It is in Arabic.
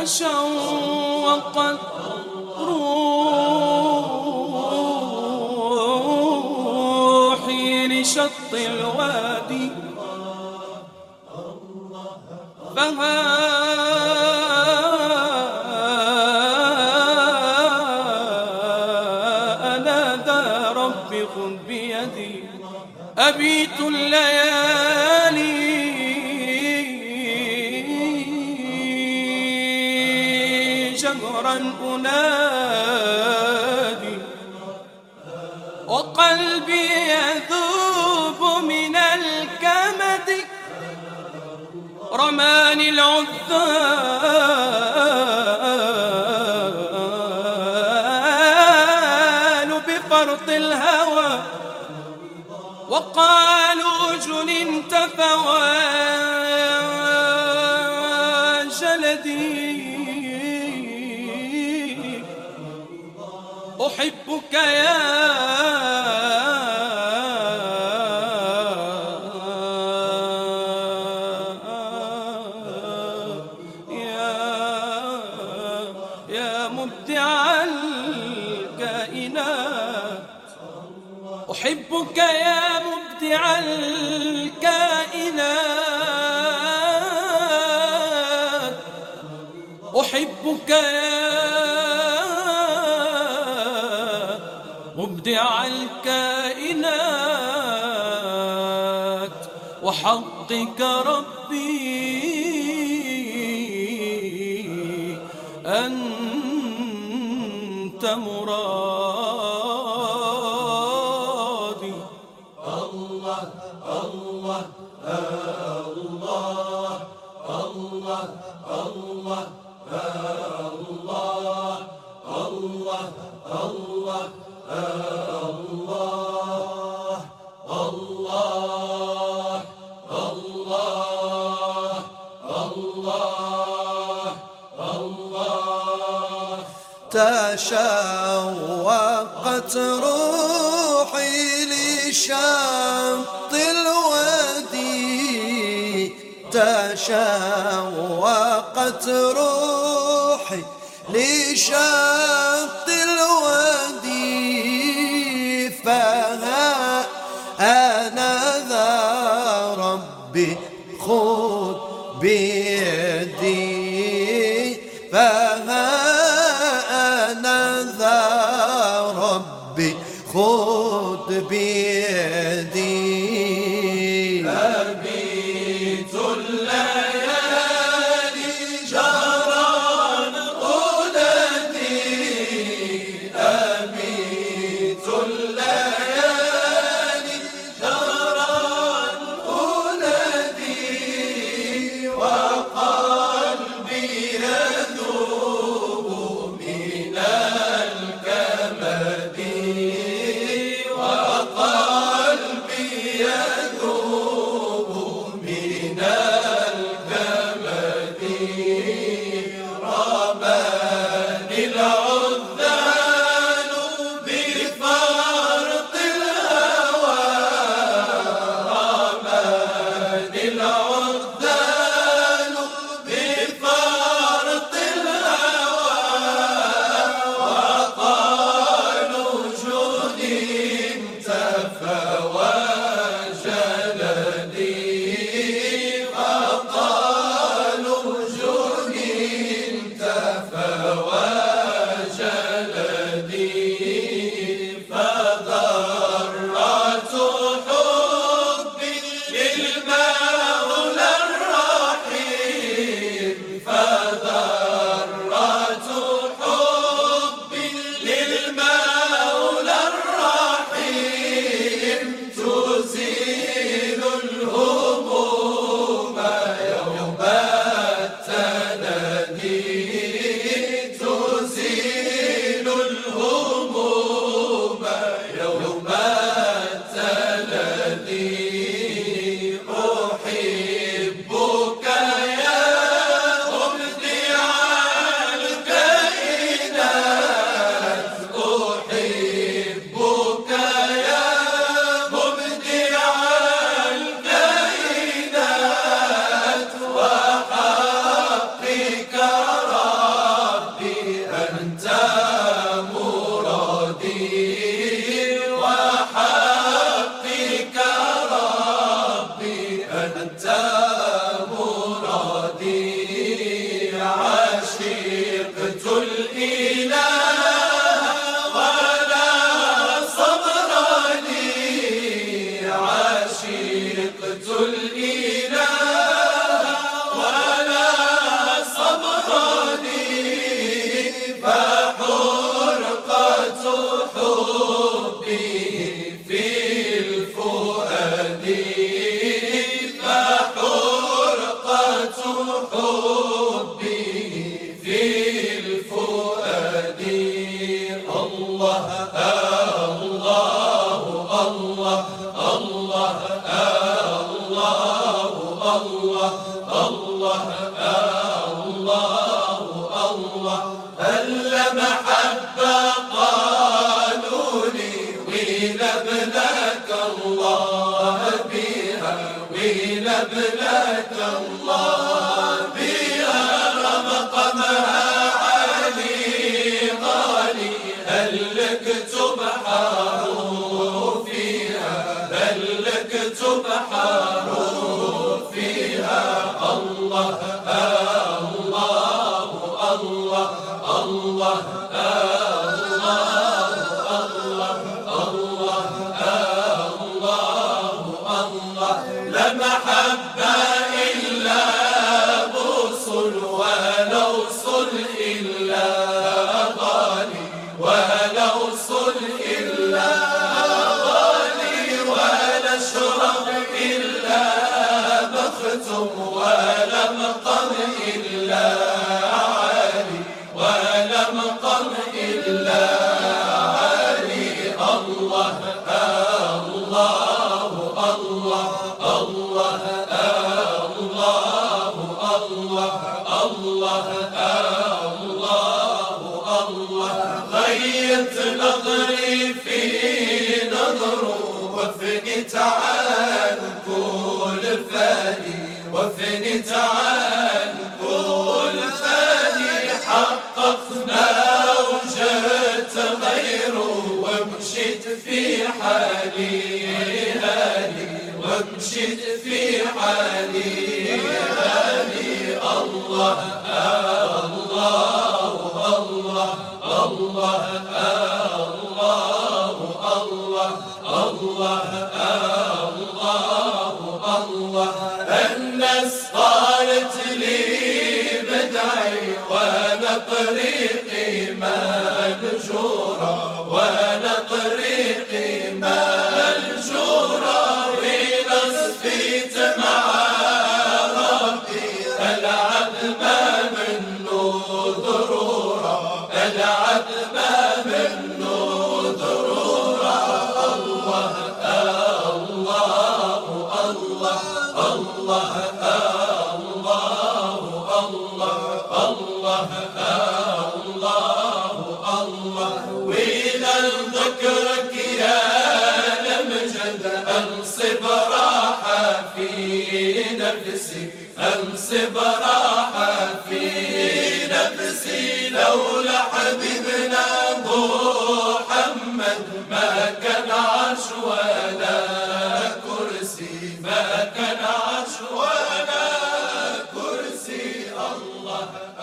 تشوقت روحي لشط الوادي فها أنا ذا رب خذ بيدي أبيت الليالي جهرا أنادي وقلبي يذوب من الكمد رماني العذال بفرط الهوى وقالوا جننت فوى جلدي أحبك يا مبدع الكائنات أحبك يا مبدع الكائنات أحبك يا مبدع الكائنات وحقك ربي أنت مرادي. الله الله الله الله الله الله الله الله الله الله الله الله تشوقت روحي لشط الوادي تشوقت روحي لشط الوادي فها أنا ذا ربي خذ بيدي فها أنا ذا ربي خذ بيدي أبيت الليالي جهرا أنادي أبيت الليالي جهرا أنادي وقلبي يذوب من الكمد وقلبي يذوب بلاد الله بها مقامها عالي غالي، هل لك تبحر فيها، هل لك تبحر فيها. الله الله الله الله لا محبة إلا بوصل، ولا وصل إلا غالي، ولا وصل إلا غالي، ولا شرب إلا مختم، ولا مقام إلا عالي، ولا مقام إلا عالي. الله الله الله الله الله الله الله الله غيرت نظري في نظره، وفنيت عن كل فاني، وفنيت عن كل فاني. حققنا وجدت غيره، ومشيت في حالي هاني، ومشيت في حالي هاني. الله الله الله الله الله الله الله الله. الناس قالت لي بدعي، وانا طريقي مهجورة، وانا طريقي مهجورة. ونصفيت مع ربي العبد ما منه ضرورة، العبد ما منه ضرورة. الله الله الله الله الله الله الله. وإذا ذكرك يا الأمجد أنصب راحة في نفسي، أنصب راحة في نفسي. لولا حبيبنا محمد ما كان عرش ولا كرسي، ما كان عرش ولا كرسي. الله